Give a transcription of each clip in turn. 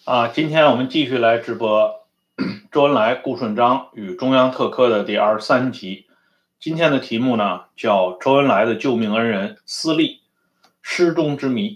今天我们继续来直播周恩来、顾顺章与中央特科的第23集。今天的题目呢叫周恩来的救命恩人私立失踪之谜。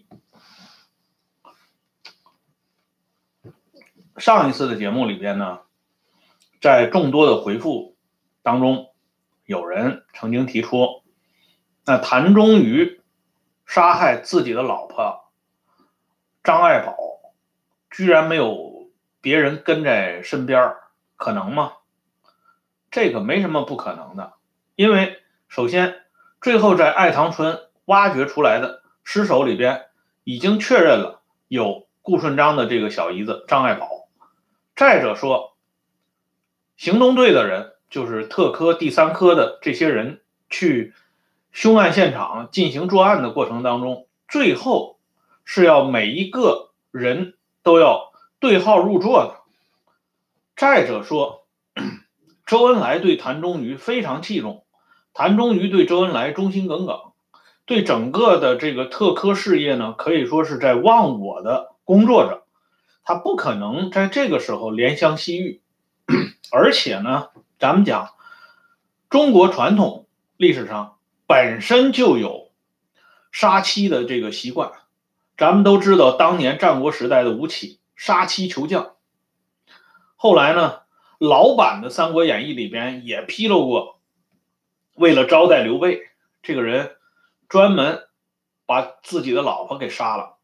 上一次的节目里边呢，在众多的回复当中，有人曾经提出，那谭忠于杀害自己的老婆张爱宝，居然没有别人跟在身边，可能吗？这个没什么不可能的，因为首先，最后在爱塘村挖掘出来的尸首里边，已经确认了有顾顺章的这个小姨子张爱宝。再者说，行动队的人，就是特科第3科的这些人去凶案现场进行作案的过程当中，最后是要每一个人都要对号入座的。再者说，周恩来对谭忠于非常器重，谭忠于对周恩来忠心耿耿，对整个的这个特科事业呢，可以说是在忘我的工作着，他不可能在这个时候怜香惜玉。而且呢，咱们讲中国传统历史上本身就有杀妻的这个习惯，咱们都知道当年战国时代的吴起杀妻求将，后来呢，老版的《三国演义》里边也披露过，为了招待刘备，这个人专门把自己的老婆给杀了。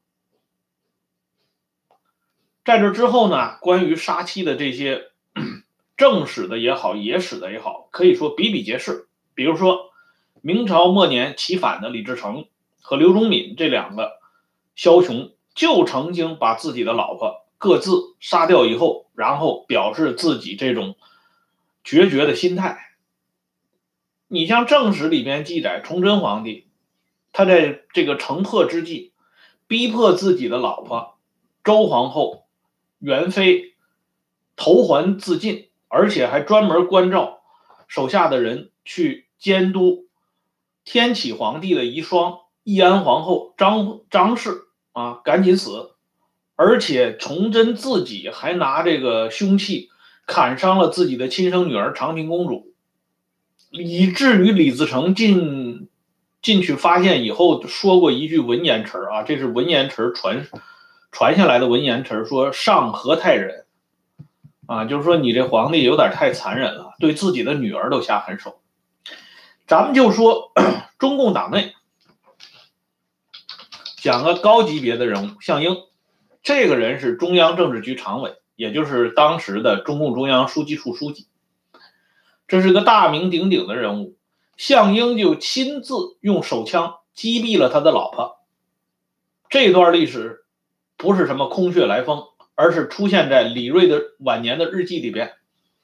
在这之后呢，关于杀妻的这些正史的也好，野史的也好，可以说比比皆是。比如说，明朝末年起反的李自成和刘忠敏这2个枭雄，就曾经把自己的老婆各自杀掉以后，然后表示自己这种决绝的心态。你像正史里边记载，崇祯皇帝他在这个城破之际，逼迫自己的老婆周皇后元妃投环自尽，而且还专门关照手下的人去监督天启皇帝的遗孀义安皇后张氏赶紧死，而且崇祯自己还拿这个凶器砍伤了自己的亲生女儿长平公主，以至于李自成进去发现以后说过一句文言词这是文言词传下来的文言词，说上何太忍就是说你这皇帝有点太残忍了，对自己的女儿都下狠手。咱们就说中共党内讲个高级别的人物，项英，这个人是中央政治局常委，也就是当时的中共中央书记处书记，这是个大名鼎鼎的人物。项英就亲自用手枪击毙了他的老婆。这段历史不是什么空穴来风，而是出现在李瑞的晚年的日记里边。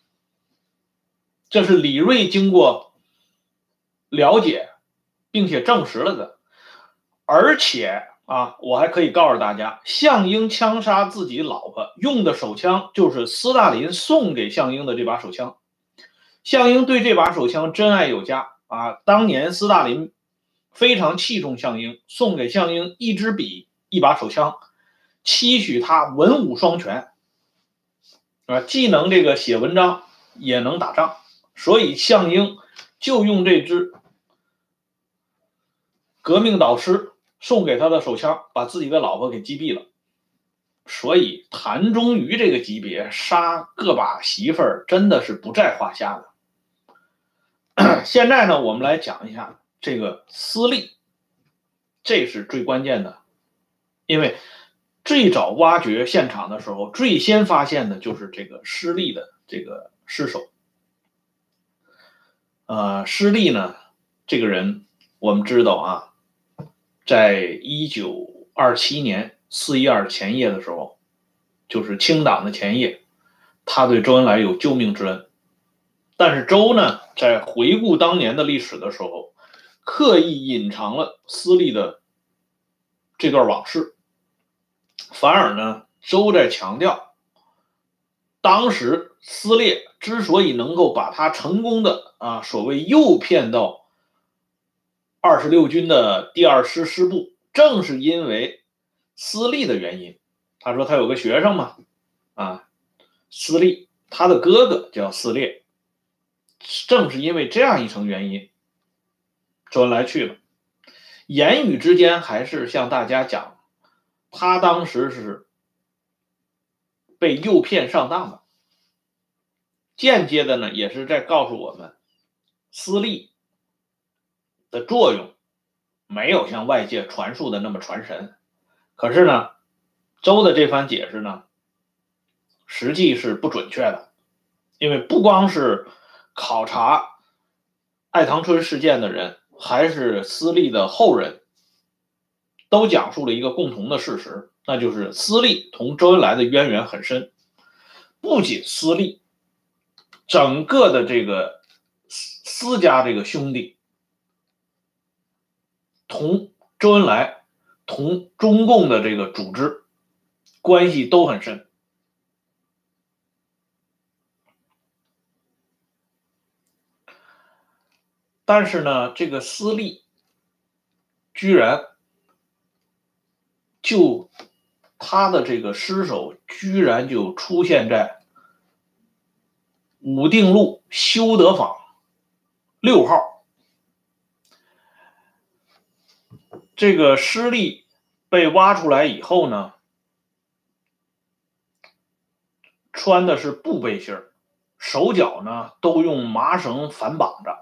这是李瑞经过了解并且证实了的。而且我还可以告诉大家，项英枪杀自己老婆用的手枪就是斯大林送给项英的这把手枪。项英对这把手枪真爱有加当年斯大林非常器重项英，送给项英一支笔一把手枪，期许他文武双全既能这个写文章也能打仗，所以项英就用这支革命导师送给他的手枪把自己的老婆给击毙了。所以谭忠于这个级别杀个把媳妇儿真的是不在话下的。现在呢，我们来讲一下这个私立，这是最关键的。因为最早挖掘现场的时候，最先发现的就是这个施立的这个尸首。施立呢，这个人我们知道在1927年4·12前夜的时候，就是清党的前夜，他对周恩来有救命之恩。但是周呢，在回顾当年的历史的时候，刻意隐藏了私立的这段往事，反而呢，周在强调，当时撕裂之所以能够把他成功的所谓诱骗到26军的第2师师部，正是因为私立的原因。他说他有个学生嘛， 啊，司隶，他的哥哥叫司烈。正是因为这样一层原因，周恩来去了。言语之间还是向大家讲，他当时是被诱骗上当的，间接的呢，也是在告诉我们，私立的作用没有像外界传述的那么传神。可是呢，周的这番解释呢，实际是不准确的，因为不光是考察爱堂春事件的人，还是私立的后人，都讲述了一个共同的事实，那就是私立同周恩来的渊源很深。不仅私立，整个的这个私家这个兄弟，同周恩来、同中共的这个组织关系都很深。但是呢，这个私立居然就他的这个尸首居然就出现在武定路修德坊6号。这个尸粒被挖出来以后呢，穿的是布背心，手脚呢都用麻绳反绑着。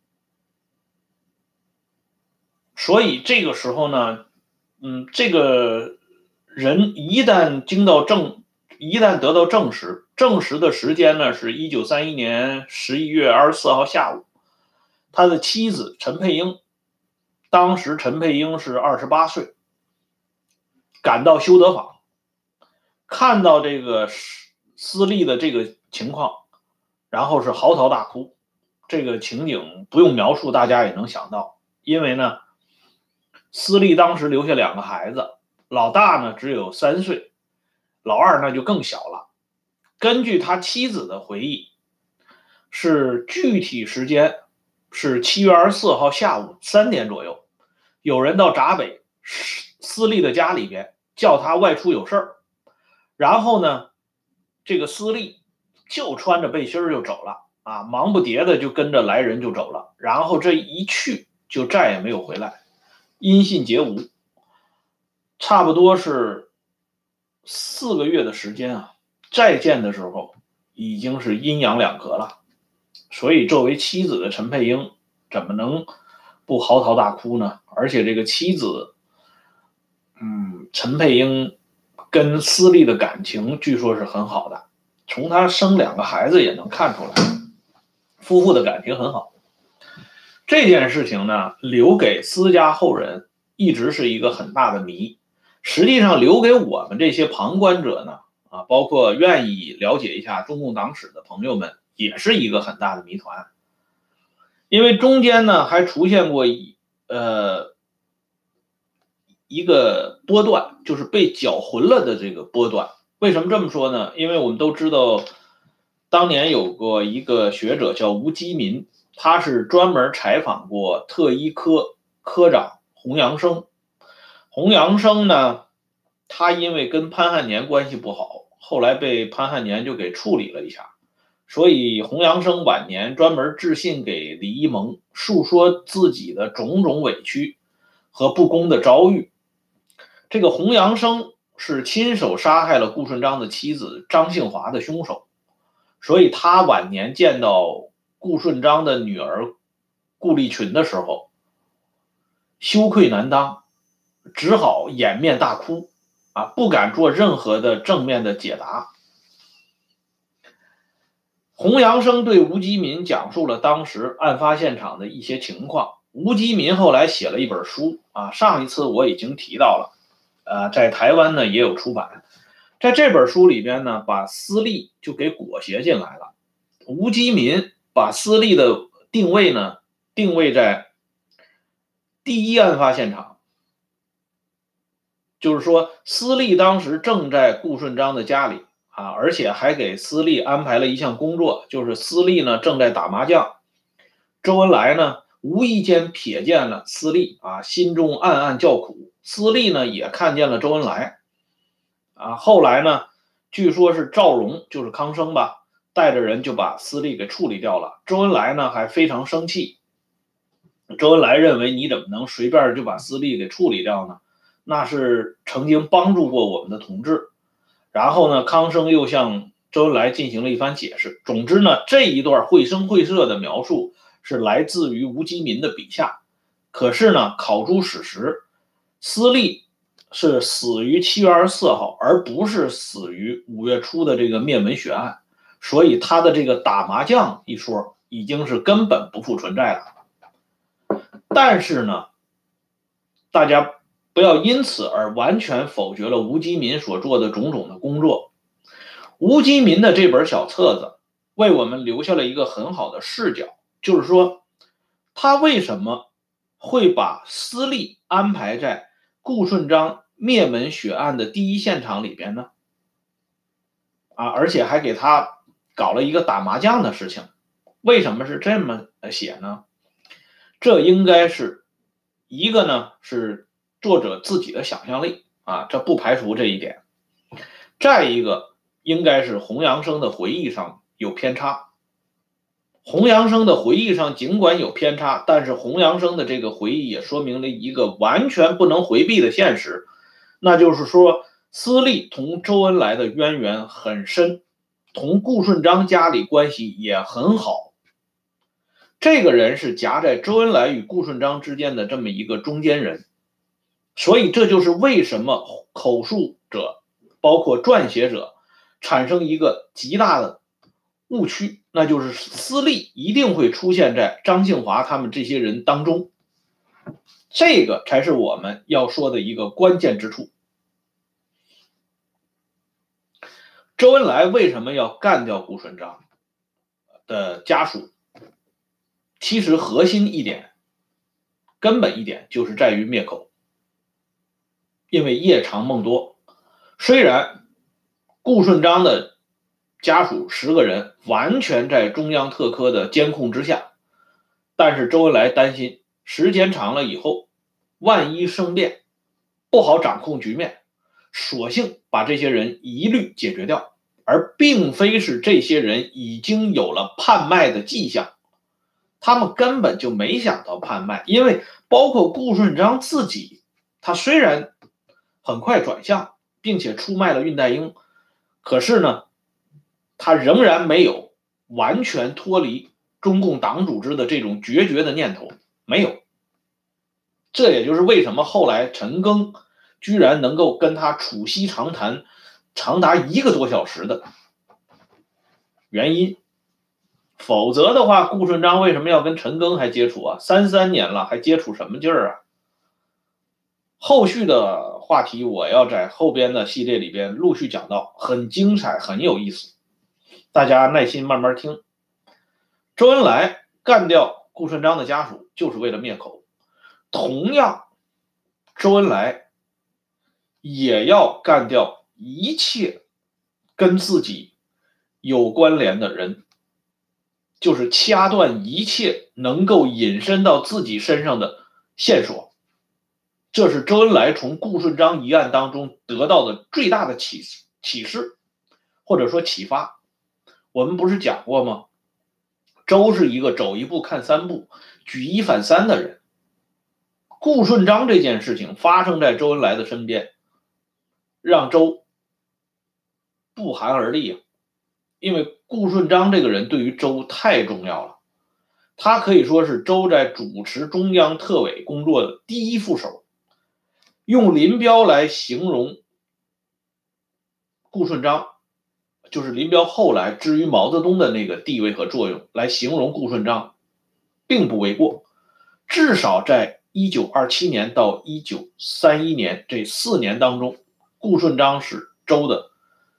所以这个时候呢，这个人一旦得到证实的时间呢是1931年11月24号下午，他的妻子陈佩英，当时陈佩英是28岁，赶到修德坊，看到这个私立的这个情况，然后是嚎啕大哭。这个情景不用描述，大家也能想到，因为呢，私立当时留下2个孩子，老大呢只有3岁，老二呢就更小了。根据他妻子的回忆，是具体时间是7月24号下午3点左右，有人到闸北私立的家里边叫他外出有事儿，然后呢，这个私立就穿着背心就走了啊，忙不迭的就跟着来人就走了，然后这一去就再也没有回来，音信皆无。差不多是4个月的时间啊，再见的时候已经是阴阳两隔了。所以作为妻子的陈佩英怎么能不嚎啕大哭呢？而且这个妻子陈佩英跟私立的感情据说是很好的，从他生2个孩子也能看出来，夫妇的感情很好。这件事情呢，留给私家后人一直是一个很大的谜。实际上留给我们这些旁观者呢，包括愿意了解一下中共党史的朋友们，也是一个很大的谜团。因为中间呢还出现过一个波段，就是被搅浑了的这个波段。为什么这么说呢？因为我们都知道，当年有过一个学者叫吴基民，他是专门采访过特一科科长洪阳生。洪阳生呢，他因为跟潘汉年关系不好，后来被潘汉年就给处理了一下。所以洪阳生晚年专门致信给李一萌，述说自己的种种委屈和不公的遭遇。这个洪阳生是亲手杀害了顾顺章的妻子张杏华的凶手，所以他晚年见到顾顺章的女儿顾立群的时候，羞愧难当，只好掩面大哭不敢做任何的正面的解答。洪阳生对吴基民讲述了当时案发现场的一些情况。吴基民后来写了一本书上一次我已经提到了，在台湾呢也有出版。在这本书里边呢，把私立就给裹挟进来了。吴基民把私立的定位在第一案发现场，就是说私立当时正在顾顺章的家里而且还给私立安排了一项工作，就是私立呢正在打麻将，周恩来呢无意间瞥见了私立心中暗暗叫苦。私立呢也看见了周恩来后来呢， 据说是赵荣，就是康生吧，带着人就把司隶给处理掉了。周恩来呢还非常生气，周恩来认为你怎么能随便就把司隶给处理掉呢？那是曾经帮助过我们的同志。然后呢，康生又向周恩来进行了一番解释。总之呢，这一段绘声绘色的描述是来自于吴基民的笔下。可是呢，考诸史实，司隶是死于7月24号，而不是死于5月初的这个灭门血案，所以他的这个打麻将一说已经是根本不复存在了。但是呢，大家不要因此而完全否决了吴基民所做的种种的工作。吴基民的这本小册子为我们留下了一个很好的视角，就是说他为什么会把司隶安排在顾顺章灭门血案的第一现场里边呢？而且还给他搞了一个打麻将的事情。为什么是这么写呢？这应该是一个呢是作者自己的想象力这不排除这一点。再一个应该是洪阳生的回忆上有偏差。洪阳生的回忆上尽管有偏差，但是洪阳生的这个回忆也说明了一个完全不能回避的现实，那就是说司隶同周恩来的渊源很深，同顾顺章家里关系也很好。这个人是夹在周恩来与顾顺章之间的这么一个中间人，所以这就是为什么口述者包括撰写者产生一个极大的误区，那就是司隶一定会出现在张庆华他们这些人当中，这个才是我们要说的一个关键之处。周恩来为什么要干掉顾顺章的家属？其实核心一点，根本一点就是在于灭口。因为夜长梦多，虽然顾顺章的家属10个人完全在中央特科的监控之下，但是周恩来担心时间长了以后，万一生变，不好掌控局面，索性把这些人一律解决掉，而并非是这些人已经有了叛卖的迹象。他们根本就没想到叛卖，因为包括顾顺章自己，他虽然很快转向，并且出卖了恽代英，可是呢，他仍然没有完全脱离中共党组织的这种决绝的念头，没有。这也就是为什么后来陈赓居然能够跟他促膝长谈长达1个多小时的原因。否则的话，顾顺章为什么要跟陈赓还接触？33年了，还接触什么劲儿啊？后续的话题我要在后边的系列里边陆续讲到，很精彩，很有意思，大家耐心慢慢听。周恩来干掉顾顺章的家属就是为了灭口，同样，周恩来也要干掉一切跟自己有关联的人，就是掐断一切能够引申到自己身上的线索。这是周恩来从顾顺章一案当中得到的最大的启示，或者说启发。我们不是讲过吗？周是一个走一步看3步，举一反3的人。顾顺章这件事情发生在周恩来的身边，让周不寒而栗因为顾顺章这个人对于周太重要了，他可以说是周在主持中央特委工作的第一副手。用林彪来形容顾顺章，就是林彪后来至于毛泽东的那个地位和作用来形容顾顺章，并不为过。至少在1927年到1931年这4年当中，顾顺章是周的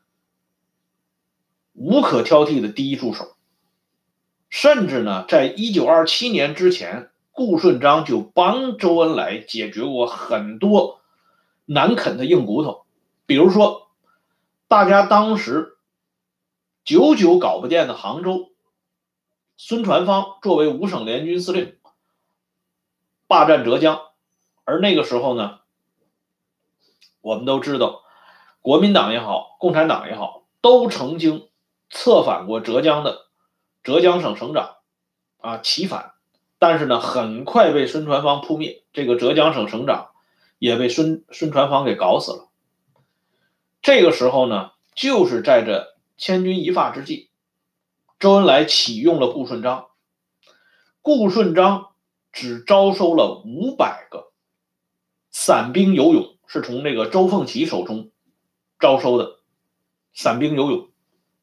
无可挑剔的第一助手。甚至呢，在1927年之前，顾顺章就帮周恩来解决过很多难啃的硬骨头。比如说，大家当时久久搞不定的杭州，孙传芳作为5省联军司令霸占浙江，而那个时候呢，我们都知道国民党也好，共产党也好， 都曾经策反过浙江省省长齐反，但是呢，很快被孙传芳扑灭，这个浙江省省长也被孙传芳给搞死了。这个时候呢，就是在这千钧一发之际，周恩来启用了顾顺章。顾顺章只招收了500个散兵游勇，是从这个周凤岐手中招收的散兵游勇。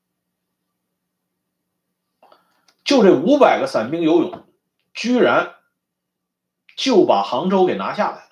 就这500个散兵游勇，居然就把杭州给拿下来了。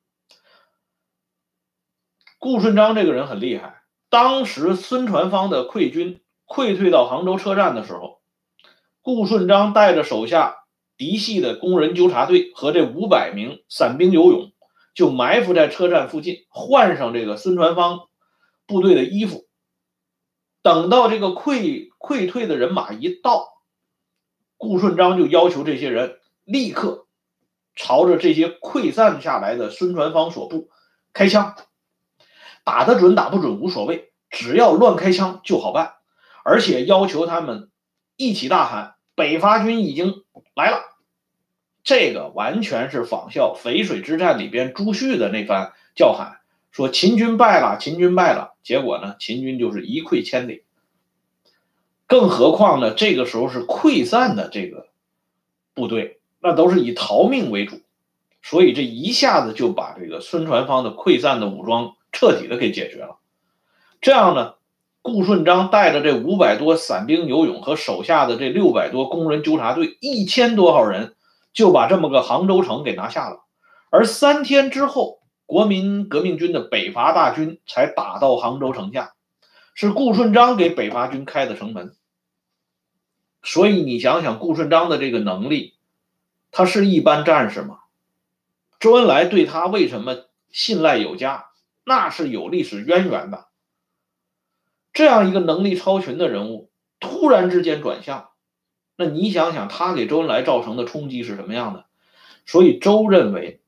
顾顺章这个人很厉害，当时孙传芳的溃军溃退到杭州车站的时候，顾顺章带着手下嫡系的工人纠察队和这500名散兵游勇，就埋伏在车站附近，换上这个孙传芳部队的衣服。等到这个溃退的人马一到，顾顺章就要求这些人立刻朝着这些溃散下来的孙传芳所部开枪，打得准打不准无所谓，只要乱开枪就好办，而且要求他们一起大喊北伐军已经来了。这个完全是仿效淝水之战里边朱旭的那番叫喊，说秦军败了，秦军败了，结果呢，秦军就是一溃千里。更何况呢，这个时候是溃散的这个部队，那都是以逃命为主，所以这一下子就把这个孙传芳的溃散的武装彻底的给解决了。这样呢，顾顺章带着这500多散兵游勇和手下的这600多工人纠察队1000多号人，就把这么个杭州城给拿下了。而3天之后，国民革命军的北伐大军才打到杭州城下，是顾顺章给北伐军开的城门。所以你想想顾顺章的这个能力，他是一般战士吗？周恩来对他为什么信赖有加？那是有历史渊源的。这样一个能力超群的人物，突然之间转向，那你想想他给周恩来造成的冲击是什么样的？所以周认为，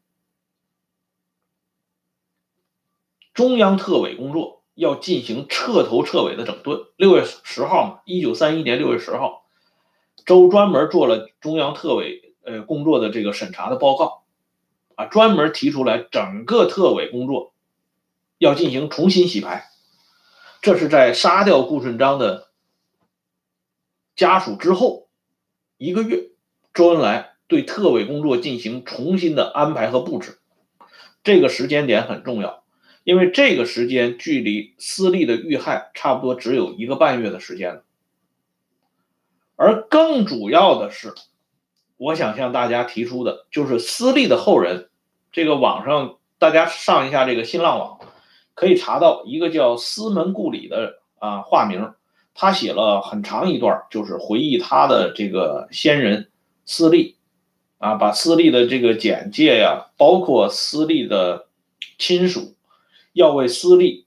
中央特委工作要进行彻头彻尾的整顿。6月10号嘛，1931年6月10号，周专门做了中央特委工作的这个审查的报告，专门提出来整个特委工作要进行重新洗牌。这是在杀掉顾顺章的家属之后1个月，周恩来对特委工作进行重新的安排和布置。这个时间点很重要，因为这个时间距离私立的遇害差不多只有1个半月的时间了。而更主要的是，我想向大家提出的就是私立的后人，这个网上大家上一下这个新浪网，可以查到一个叫司门顾里的化名，他写了很长一段，就是回忆他的这个先人私立把私立的这个简介呀，包括私立的亲属要为私立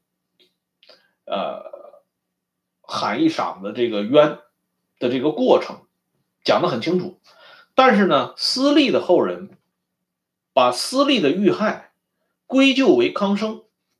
喊一嗓子这个冤的这个过程讲得很清楚。但是呢，私立的后人把私立的遇害归咎为康生，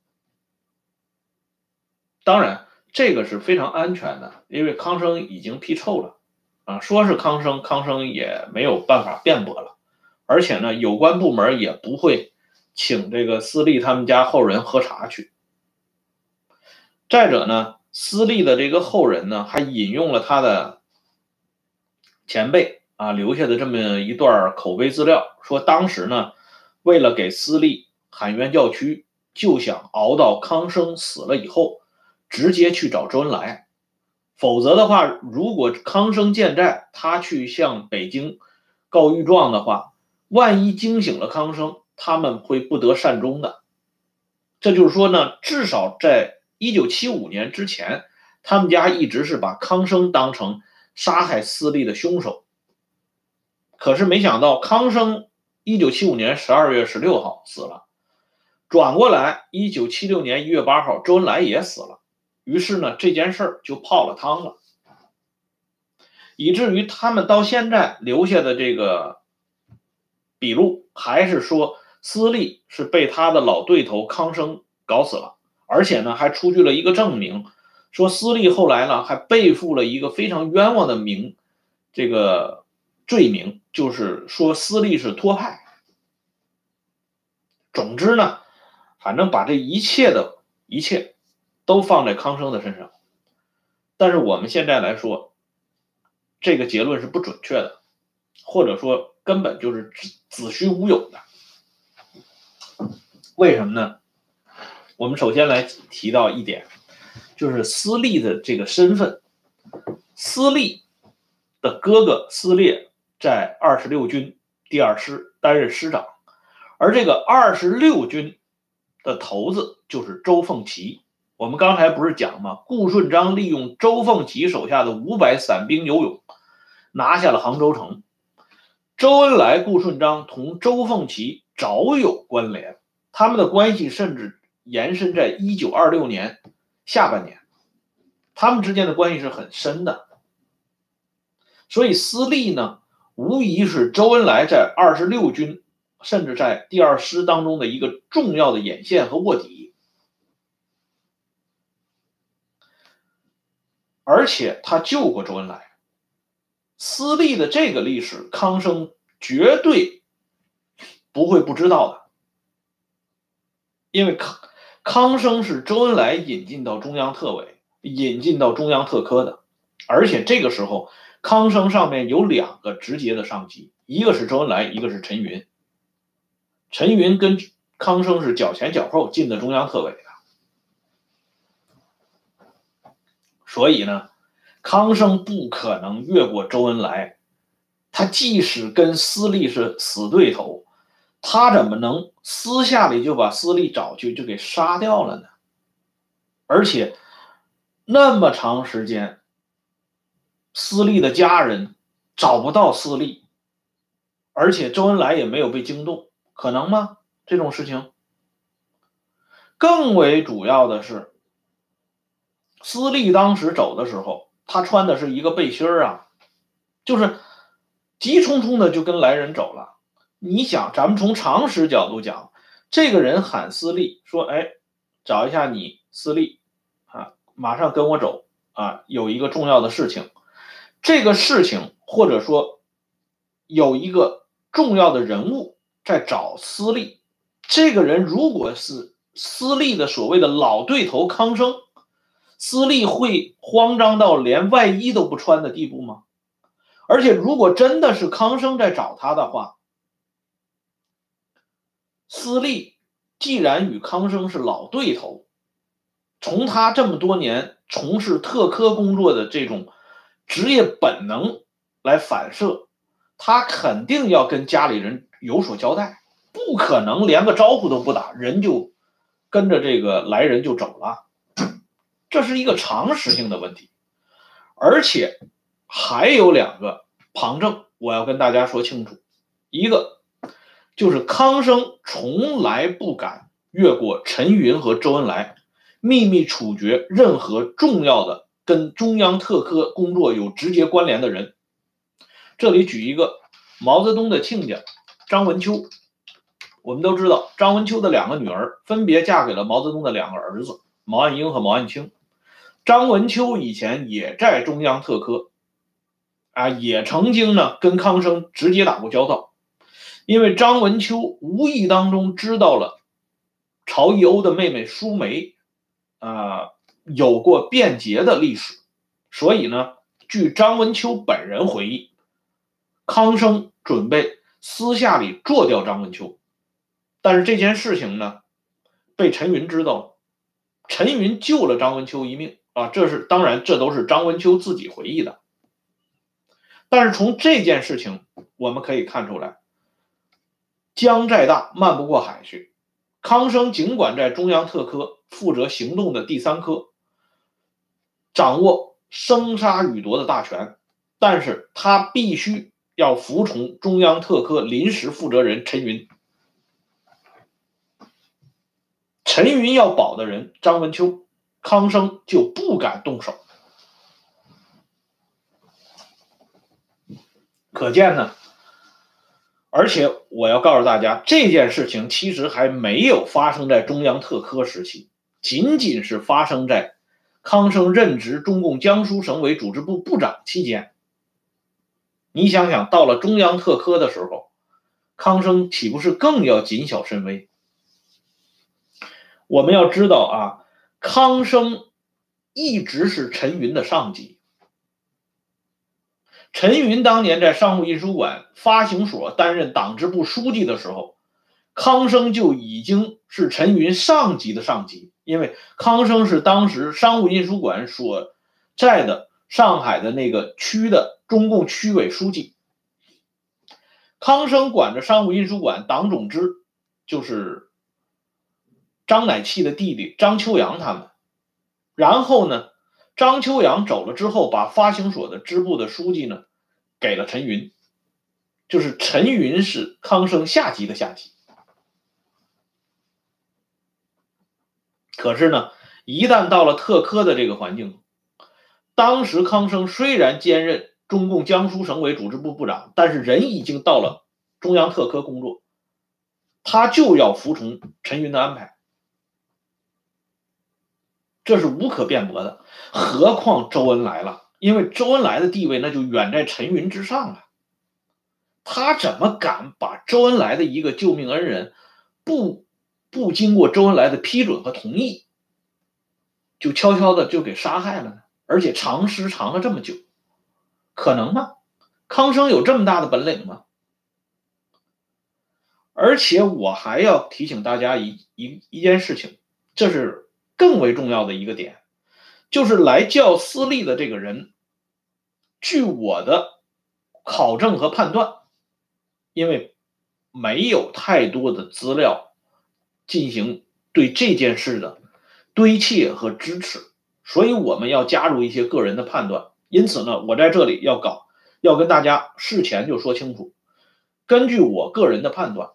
当然这个是非常安全的，因为康生已经批臭了说是康生，康生也没有办法辩驳了，而且呢，有关部门也不会请这个私立他们家后人喝茶去。再者呢，私立的这个后人呢，还引用了他的前辈留下的这么一段口碑资料，说当时呢，为了给私立喊冤叫屈，就想熬到康生死了以后，直接去找周恩来。否则的话，如果康生健在，他去向北京告御状的话，万一惊醒了康生，他们会不得善终的。这就是说呢，至少在1975年之前，他们家一直是把康生当成杀害私立的凶手。可是没想到康生1975年12月16号死了，转过来1976年1月8号周恩来也死了，于是呢，这件事儿就泡了汤了，以至于他们到现在留下的这个笔录还是说私立是被他的老对头康生搞死了，而且呢还出具了一个证明， 说司隶后来呢还背负了一个非常冤枉的这个罪名，就是说司隶是托派。总之呢，反正把这一切都放在康生的身上。但是我们现在来说，这个结论是不准确的，或者说根本就是子虚乌有的。为什么呢？我们首先来提到一点，就是司隶的这个身份。司隶的哥哥司烈在26军第2师担任师长，而这个26军的头子就是周凤岐。我们刚才不是讲吗？顾顺章利用周凤岐手下的500散兵游勇，拿下了杭州城。周恩来、顾顺章同周凤岐早有关联，他们的关系甚至延伸在1926年下半年，他们之间的关系是很深的。所以司隶呢，无疑是周恩来在26军甚至在第2师当中的一个重要的眼线和卧底，而且他救过周恩来。司隶的这个历史，康生绝对不会不知道的，因为康生是周恩来引进到中央特委、引进到中央特科的，而且这个时候康生上面有2个直接的上级，一个是周恩来，一个是陈云。陈云跟康生是脚前脚后进的中央特委的，所以呢，康生不可能越过周恩来。他即使跟司隶是死对头，他怎么能私下里就把司隶找去就给杀掉了呢？而且那么长时间，司隶的家人找不到司隶，而且周恩来也没有被惊动，可能吗？这种事情。更为主要的是，司隶当时走的时候，他穿的是一个背心啊，就是急匆匆的就跟来人走了。你想，咱们从常识角度讲，这个人喊司隶说：“哎，找一下你司隶啊，马上跟我走啊，有一个重要的事情。”这个事情或者说有一个重要的人物在找司隶，这个人如果是司隶的所谓的老对头康生，司隶会慌张到连外衣都不穿的地步吗？而且如果真的是康生在找他的话，司隶既然与康生是老对头，从他这么多年从事特科工作的这种职业本能来反射，他肯定要跟家里人有所交代，不可能连个招呼都不打，人就跟着这个来人就走了，这是一个常识性的问题。而且还有2个旁证，我要跟大家说清楚。一个就是康生从来不敢越过陈云和周恩来，秘密处决任何重要的跟中央特科工作有直接关联的人。这里举一个毛泽东的亲家张文秋。我们都知道张文秋的2个女儿分别嫁给了毛泽东的2个儿子，毛岸英和毛岸青。张文秋以前也在中央特科也曾经呢跟康生直接打过交道。因为张文秋无意当中知道了曹逸欧的妹妹舒梅有过变节的历史，所以呢，据张文秋本人回忆，康生准备私下里做掉张文秋。但是这件事情呢，被陈云知道了，陈云救了张文秋一命当然这都是张文秋自己回忆的。但是从这件事情我们可以看出来，江再大漫不过海去。康生尽管在中央特科负责行动的第3科，掌握生杀予夺的大权，但是他必须要服从中央特科临时负责人陈云。陈云要保的人张文秋，康生就不敢动手。可见呢，而且我要告诉大家，这件事情其实还没有发生在中央特科时期，仅仅是发生在康生任职中共江苏省委组织部部长期间，你想想，到了中央特科的时候，康生岂不是更要谨小慎微？我们要知道啊，康生一直是陈云的上级。陈云当年在商务印书馆发行所担任党支部书记的时候，康生就已经是陈云上级的上级，因为康生是当时商务印书馆所在的上海的那个区的中共区委书记。康生管着商务印书馆党总支，就是张乃器的弟弟张秋阳他们。然后呢，张秋阳走了之后，把发行所的支部的书记呢给了陈云，就是陈云是康生下级的下级。可是呢，一旦到了特科的这个环境，当时康生虽然兼任中共江苏省委组织部部长，但是人已经到了中央特科工作，他就要服从陈云的安排，这是无可辩驳的。何况周恩来了，因为周恩来的地位那就远在陈云之上了，他怎么敢把周恩来的一个救命恩人不经过周恩来的批准和同意，就悄悄的就给杀害了呢？而且藏尸藏了这么久，可能吗？康生有这么大的本领吗？而且我还要提醒大家一件事情，这是更为重要的一个点，就是来叫私立的这个人，据我的考证和判断，因为没有太多的资料进行对这件事的堆砌和支持，所以我们要加入一些个人的判断。因此呢，我在这里要跟大家事前就说清楚，根据我个人的判断，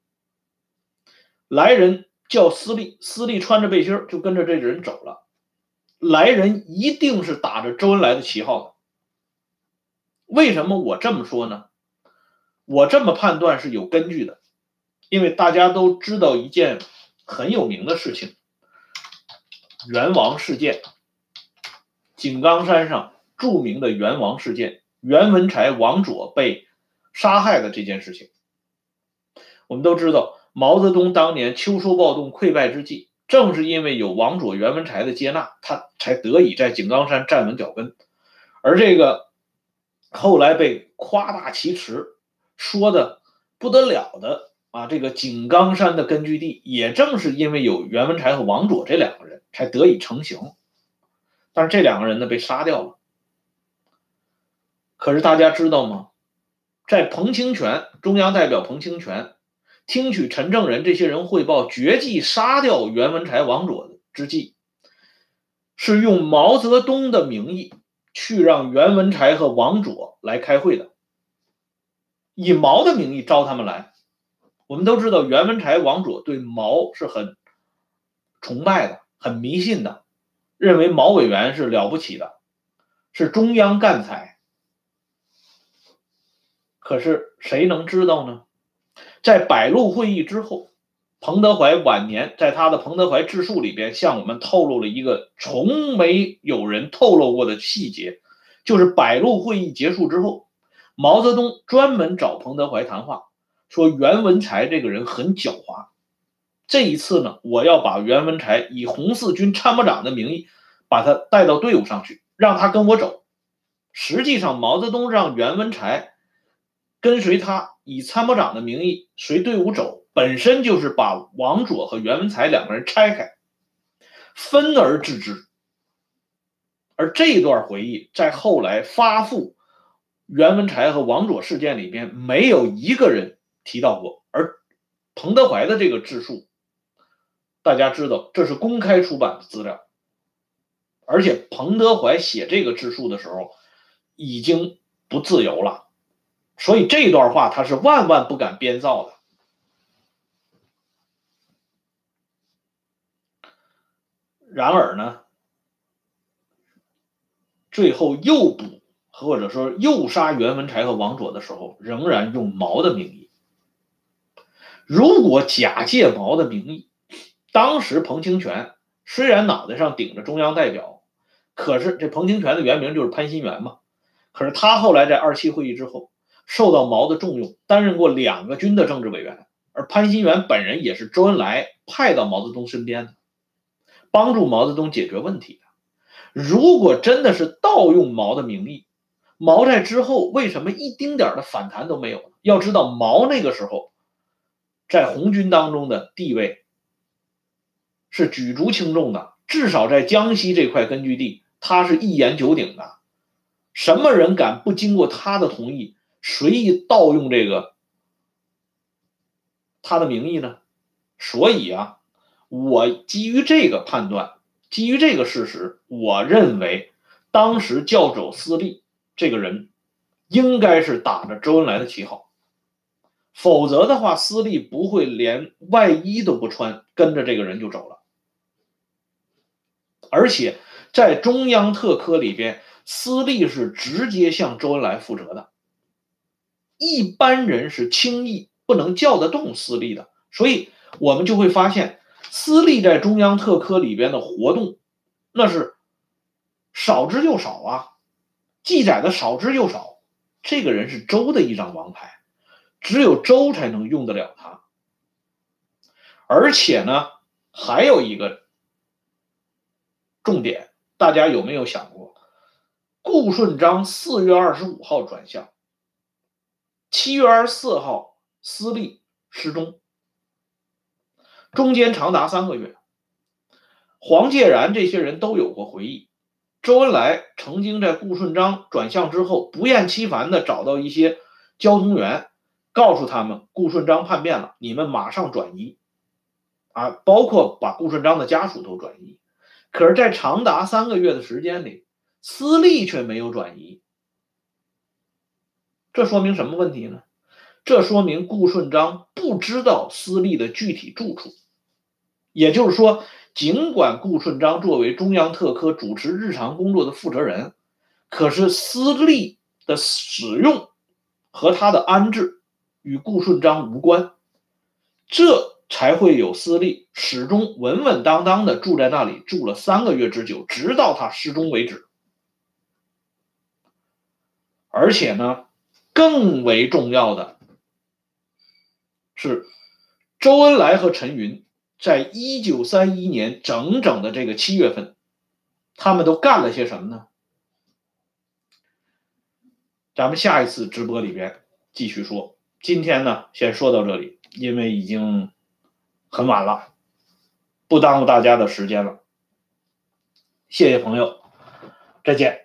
来人叫私立，私立穿着背心就跟着这个人走了，来人一定是打着周恩来的旗号的。为什么我这么说呢？我这么判断是有根据的，因为大家都知道一件很有名的事情，元王事件，井冈山上著名的元王事件，袁文才、王佐被杀害的这件事情。我们都知道，毛泽东当年秋收暴动溃败之际，正是因为有王佐、袁文才的接纳，他才得以在井冈山站稳脚跟。而这个后来被夸大其词说的不得了的这个井冈山的根据地，也正是因为有袁文才和王佐这两个人才得以成型。但是这两个人呢被杀掉了。可是大家知道吗？在彭清泉中央代表彭清泉听取陈正仁这些人汇报决计杀掉袁文才、王佐之际，是用毛泽东的名义去让袁文才和王佐来开会的，以毛的名义招他们来。我们都知道袁文才、王佐对毛是很崇拜的，很迷信的，认为毛委员是了不起的，是中央干才。可是谁能知道呢？在百路会议之后，彭德怀晚年在他的《彭德怀自述》里边向我们透露了一个从没有人透露过的细节，就是百路会议结束之后，毛泽东专门找彭德怀谈话，说袁文才这个人很狡猾，这一次呢，我要把袁文才以红四军参谋长的名义把他带到队伍上去，让他跟我走。实际上毛泽东让袁文才跟随他以参谋长的名义随队伍走，本身就是把王佐和袁文才两个人拆开，分而治之。而这段回忆在后来发布袁文才和王佐事件里边没有一个人提到过，而彭德怀的这个自述，大家知道这是公开出版的资料，而且彭德怀写这个自述的时候已经不自由了，所以这段话他是万万不敢编造的。然而呢，最后诱捕或者说诱杀袁文才和王佐的时候，仍然用毛的名义。如果假借毛的名义，当时彭清泉虽然脑袋上顶着中央代表， 可是这彭清泉的原名就是潘新元嘛。可是他后来在27会议之后受到毛的重用，担任过2个军的政治委员，而潘新元本人也是周恩来派到毛泽东身边的，帮助毛泽东解决问题的。如果真的是盗用毛的名义，毛在之后为什么一丁点的反弹都没有呢？要知道毛那个时候在红军当中的地位是举足轻重的，至少在江西这块根据地他是一言九鼎的，什么人敢不经过他的同意随意盗用这个他的名义呢？所以啊，我基于这个判断，基于这个事实，我认为当时教首司隶这个人应该是打着周恩来的旗号，否则的话，司隶不会连外衣都不穿，跟着这个人就走了。而且在中央特科里边，司隶是直接向周恩来负责的，一般人是轻易不能叫得动司隶的，所以我们就会发现，司隶在中央特科里边的活动，那是少之又少啊，记载的少之又少。这个人是周的一张王牌，只有周才能用得了他。而且呢，还有一个重点，大家有没有想过，顾顺章4月25号转向，7月24号司隶失踪，中间长达3个月。黄介然这些人都有过回忆，周恩来曾经在顾顺章转向之后，不厌其烦地找到一些交通员，告诉他们顾顺章叛变了，你们马上转移啊，包括把顾顺章的家属都转移。可是，在长达3个月的时间里，司隶却没有转移，这说明什么问题呢？这说明顾顺章不知道司隶的具体住处。也就是说，尽管顾顺章作为中央特科主持日常工作的负责人，可是司隶的使用和他的安置与顾顺章无关，这才会有司隶始终稳稳当当的住在那里，住了3个月之久，直到他失踪为止。而且呢，更为重要的是，周恩来和陈云在1931年整整的这个7月份，他们都干了些什么呢？咱们下一次直播里边继续说。今天呢，先说到这里，因为已经很晚了，不耽误大家的时间了。谢谢朋友，再见。